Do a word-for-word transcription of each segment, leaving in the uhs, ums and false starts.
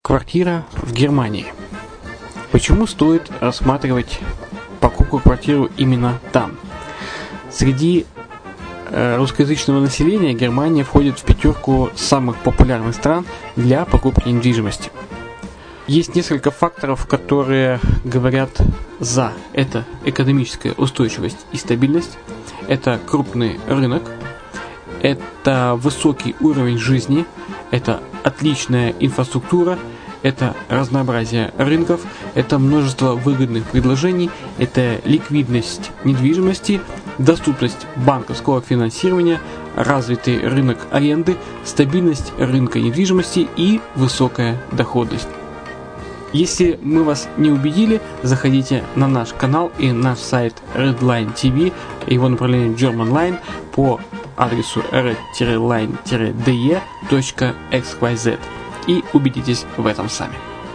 Квартира в Германии. Почему стоит рассматривать покупку квартиры именно там? Среди э, русскоязычного населения Германия входит в пятерку самых популярных стран для покупки недвижимости. Есть несколько факторов, которые говорят за. Это экономическая устойчивость и стабильность, это крупный рынок, это высокий уровень жизни, это отличная инфраструктура, это разнообразие рынков, это множество выгодных предложений, это ликвидность недвижимости, доступность банковского финансирования, развитый рынок аренды, стабильность рынка недвижимости и высокая доходность. Если мы вас не убедили, заходите на наш канал и наш сайт Redline ти ви, его направление Germanline по адресу red line d e точка x y z и убедитесь в этом сами.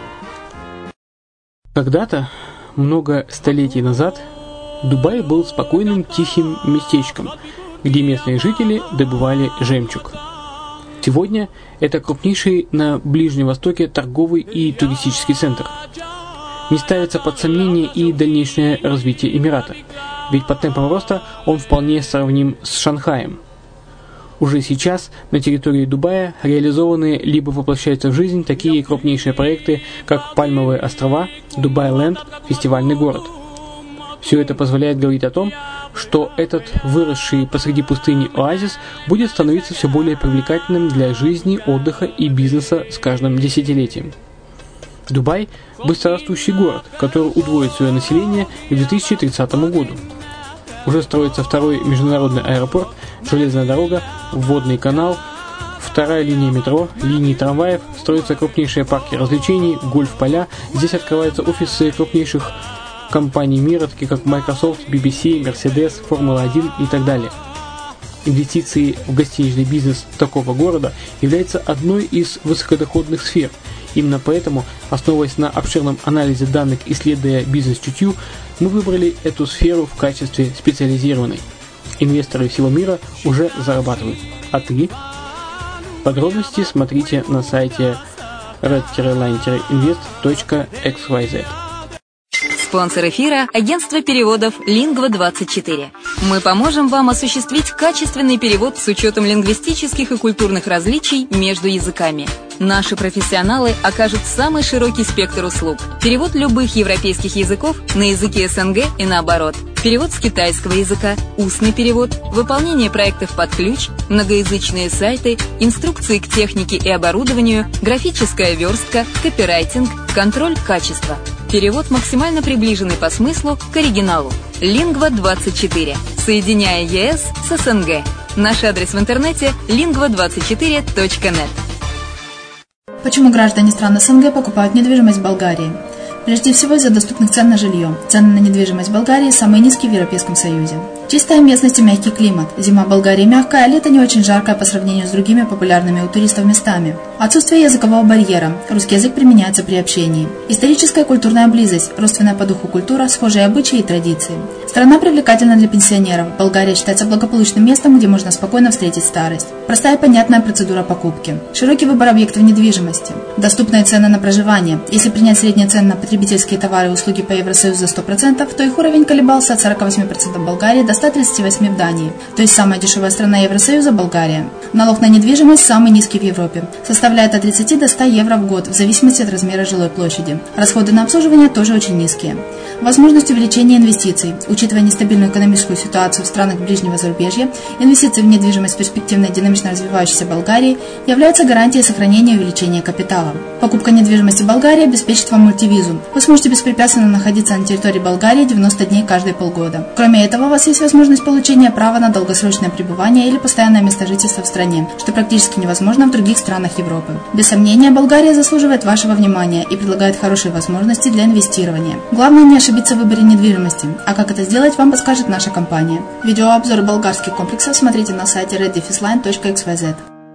Когда-то, много столетий назад, Дубай был спокойным тихим местечком, где местные жители добывали жемчуг. Сегодня это крупнейший на Ближнем Востоке торговый и туристический центр. Не ставится под сомнение и дальнейшее развитие Эмирата, ведь по темпам роста он вполне сравним с Шанхаем. Уже сейчас на территории Дубая реализованы либо воплощаются в жизнь такие крупнейшие проекты, как Пальмовые острова, Дубай-Ленд, фестивальный город. Все это позволяет говорить о том, что этот выросший посреди пустыни оазис будет становиться все более привлекательным для жизни, отдыха и бизнеса с каждым десятилетием. Дубай – быстрорастущий город, который удвоит свое население к две тысячи тридцатому году. Уже строится второй международный аэропорт, железная дорога, водный канал, вторая линия метро, линии трамваев, строятся крупнейшие парки развлечений, гольф-поля. Здесь открываются офисы крупнейших компаний мира, таких как Microsoft, би би си, Mercedes, Формула один и так далее. Инвестиции в гостиничный бизнес такого города являются одной из высокодоходных сфер. Именно поэтому, основываясь на обширном анализе данных, исследуя бизнес-чутью, мы выбрали эту сферу в качестве специализированной. Инвесторы всего мира уже зарабатывают. А ты? Подробности смотрите на сайте red line invest точка x y z. Спонсор эфира – агентство переводов Lingva двадцать четыре. Мы поможем вам осуществить качественный перевод с учетом лингвистических и культурных различий между языками. Наши профессионалы окажут самый широкий спектр услуг. Перевод любых европейских языков на языки эс эн гэ и наоборот. Перевод с китайского языка, устный перевод, выполнение проектов под ключ, многоязычные сайты, инструкции к технике и оборудованию, графическая верстка, копирайтинг, контроль качества. Перевод максимально приближенный по смыслу к оригиналу. Lingva двадцать четыре. Соединяя е эс с эс эн гэ. Наш адрес в интернете lingva двадцать четыре точка нет. Почему граждане стран эс эн гэ покупают недвижимость в Болгарии? Прежде всего из-за доступных цен на жилье. Цены на недвижимость в Болгарии самые низкие в Европейском Союзе. Чистая местность и мягкий климат. Зима в Болгарии мягкая, а лето не очень жаркое по сравнению с другими популярными у туристов местами. Отсутствие языкового барьера. Русский язык применяется при общении. Историческая и культурная близость. Родственная по духу культура, схожие обычаи и традиции. Страна привлекательна для пенсионеров. Болгария считается благополучным местом, где можно спокойно встретить старость. Простая и понятная процедура покупки. Широкий выбор объектов недвижимости. Доступные цены на проживание. Если принять средние цены на потребительские товары и услуги по Евросоюзу за сто процентов, то их уровень колебался от сорок восемь процентов в Болгарии до ста тридцати восьми процентов в Дании. То есть самая дешевая страна Евросоюза – Болгария. Налог на недвижимость самый низкий в Европе. Составляет от тридцати до ста евро в год, в зависимости от размера жилой площади. Расходы на обслуживание тоже очень низкие. Возможность увеличения инвестиций. Учитывая нестабильную экономическую ситуацию в странах ближнего зарубежья, инвестиции в недвижимость в перспективной динамично развивающейся Болгарии являются гарантией сохранения и увеличения капитала. Покупка недвижимости в Болгарии обеспечит вам мультивизу. Вы сможете беспрепятственно находиться на территории Болгарии девяносто дней каждые полгода. Кроме этого, у вас есть возможность получения права на долгосрочное пребывание или постоянное место жительства в стране, что практически невозможно в других странах Европы. Без сомнения, Болгария заслуживает вашего внимания и предлагает хорошие возможности для инвестирования. Главное не ошибиться в выборе недвижимости, а как это сделать, вам подскажет наша компания. Видеообзор болгарских комплексов смотрите на сайте red line точка x y z.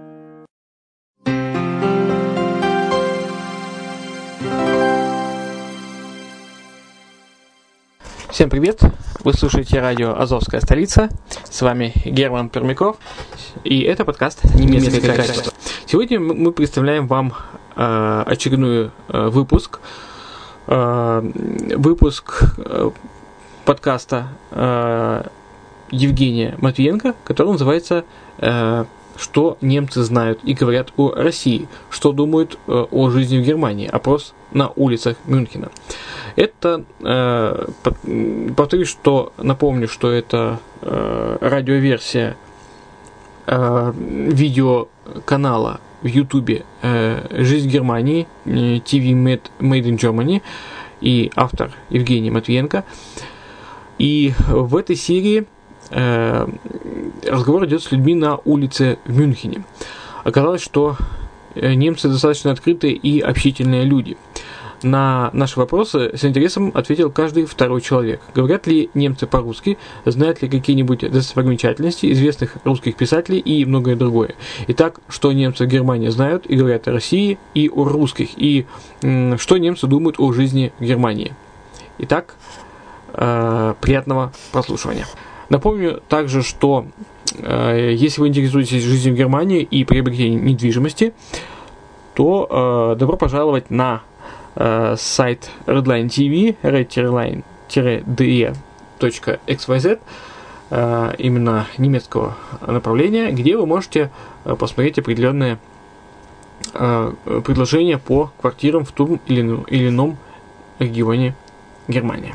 Всем привет! Вы слушаете радио «Азовская столица». С вами Герман Пермяков. И это подкаст «Немецкое качество». Сегодня мы представляем вам э, очередной э, выпуск. Э, выпуск э, подкаста э, Евгения Матвиенко, который называется э, «Что немцы знают и говорят о России? Что думают э, о жизни в Германии? Опрос на улицах Мюнхена». Это, э, повторюсь, что напомню, что это э, радиоверсия э, видеоканала в Ютубе э, «Жизнь в Германии», э, ти ви Made, Made in Germany, и автор Евгений Матвиенко. И в этой серии э, разговор идет с людьми на улице в Мюнхене. Оказалось, что немцы достаточно открытые и общительные люди. На наши вопросы с интересом ответил каждый второй человек. Говорят ли немцы по-русски, знают ли какие-нибудь достопримечательности известных русских писателей и многое другое. Итак, что немцы в Германии знают и говорят о России и о русских, и м, что немцы думают о жизни в Германии. Итак, э, приятного прослушивания. Напомню также, что э, если вы интересуетесь жизнью в Германии и приобретением недвижимости, то э, добро пожаловать на сайт Redline ти ви, red-line-de точка икс вай зет, именно немецкого направления, где вы можете посмотреть определенные предложения по квартирам в том или ином регионе Германии.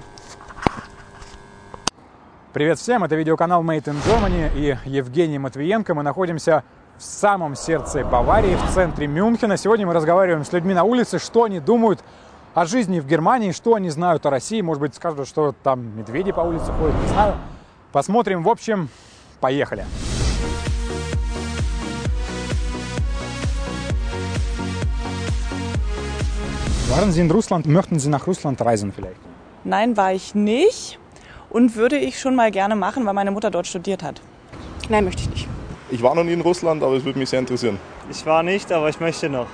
Привет всем, это видеоканал Made in Germany и Евгений Матвиенко. Мы находимся в самом сердце Баварии, в центре Мюнхена. Сегодня мы разговариваем с людьми на улице, что они думают о жизни в Германии, что они знают о России. Может быть, скажут, что там медведи по улице ходят, не знаю. Посмотрим. В общем, поехали. Waren Sie in Russland? Möchten Sie nach Russland reisen vielleicht? Nein, war ich nicht und würde ich schon mal gerne machen, weil meine Mutter dort studiert hat. Nein, möchte ich nicht. Ich war noch nie in Russland, aber es würde mich sehr interessieren. Ich war nicht, aber ich möchte noch.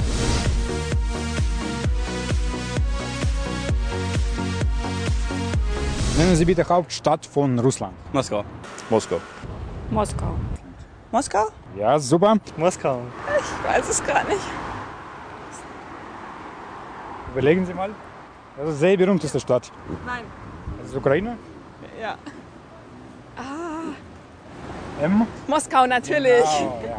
Nennen Sie bitte Hauptstadt von Russland. Moskau. Moskau. Moskau. Moskau? Ja, super. Moskau. Ich weiß es gar nicht. Überlegen Sie mal. Das ist eine sehr berühmteste Stadt. Nein. Das ist Ukraine? Ja. Ah. M? Moskau natürlich. Genau, ja.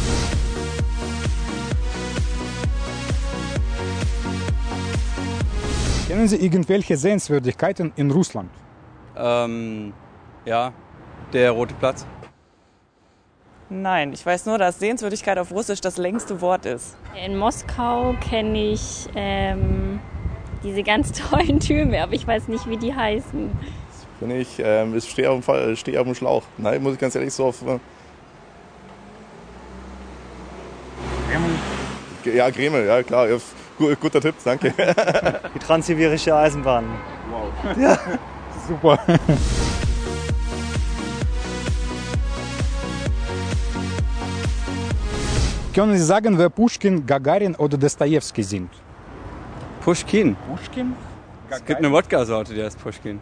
Kennen Sie irgendwelche Sehenswürdigkeiten in Russland? Ähm, ja, der Rote Platz. Nein, ich weiß nur, dass Sehenswürdigkeit auf Russisch das längste Wort ist. In Moskau kenne ich ähm, diese ganz tollen Türme, aber ich weiß nicht, wie die heißen. Bin ich, ähm, ich stehe auf, steh auf dem Schlauch. Nein, muss ich ganz ehrlich so auf. Äh Kreml? Ja, Kreml, ja klar. Ja, guter Tipp, danke. Die Transsibirische Eisenbahn. Wow. Ja. Super. Können Sie sagen, wer Puschkin, Gagarin oder Dostojewski sind? Puschkin. Puschkin? Es gibt eine Wodka-Sorte, die heißt Puschkin.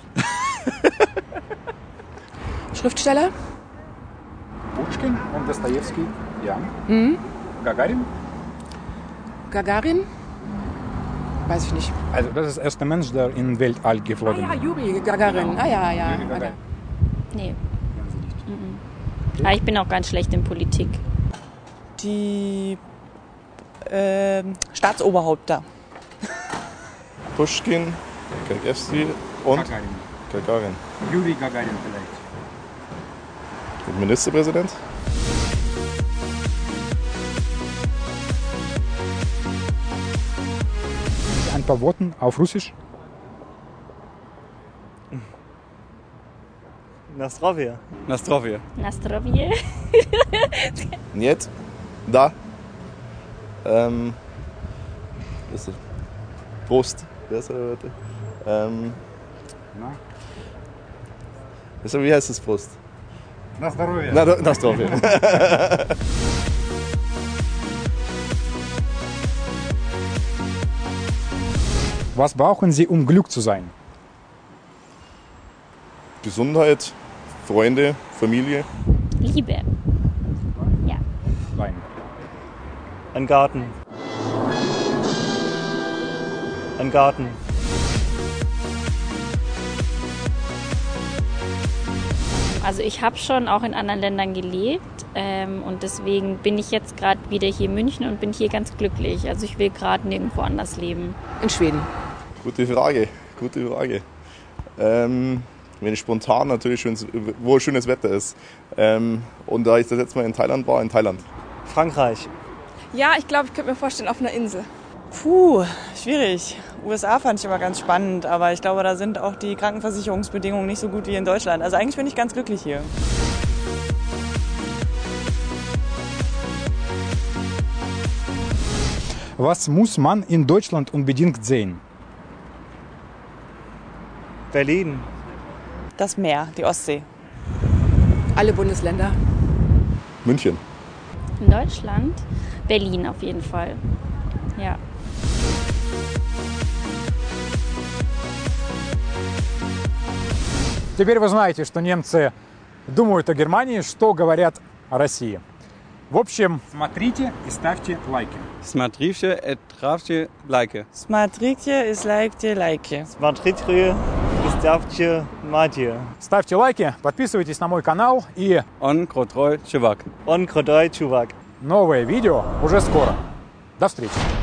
Schriftsteller? Puschkin und Dostojewski, ja. Mhm. Gagarin? Gagarin? Weiß ich nicht. Also das ist der erste Mensch, der in Weltall geflogen ist. Ah ja, Juri Gagarin. Ah ja, ja. Juri Gagarin. Nee. Mhm. Aber ich bin auch ganz schlecht in Politik. Die äh, Staatsoberhaupter. Puschkin, Gagarin und Gagarin. Gagarin. Juri Gagarin vielleicht. Und Ministerpräsident? Ein paar Worte auf Russisch. Nastrovje. Nastrovje. Nastrovje. Нет. Da. Ähm. Was ist das? Prost. Wer ist der Wörter? Ähm. Na? Was, wie heißt das Prost? На здоровье. Na, na zdrowie. Was brauchen Sie, um Glück zu sein? Gesundheit, Freunde, Familie. Liebe. Ja. Wein. Ein Garten. Ein Garten. Also ich habe schon auch in anderen Ländern gelebt ähm, und deswegen bin ich jetzt gerade wieder hier in München und bin hier ganz glücklich. Also ich will gerade nirgendwo anders leben. In Schweden. Gute Frage, gute Frage. Ähm, wenn ich spontan natürlich, schönes, wo schönes Wetter ist. Ähm, und da ich das letzte Mal in Thailand war, in Thailand. Frankreich. Ja, ich glaube, ich könnte mir vorstellen, auf einer Insel. Puh, schwierig. U S A fand ich immer ganz spannend, aber ich glaube, da sind auch die Krankenversicherungsbedingungen nicht so gut wie in Deutschland. Also eigentlich bin ich ganz glücklich hier. Was muss man in Deutschland unbedingt sehen? Berlin. Das Meer, die Ostsee. Alle Bundesländer. München. In Deutschland? Berlin auf jeden Fall. Ja. Теперь вы знаете, что немцы думают о Германии, что говорят о России. В общем, смотрите и ставьте лайки. Смотрите и ставьте лайки. Смотрите и ставьте лайки. Смотрите и ставьте матье. Ставьте лайки, подписывайтесь на мой канал и... Он крутой чувак. Он крутой чувак. Новое видео уже скоро. До встречи.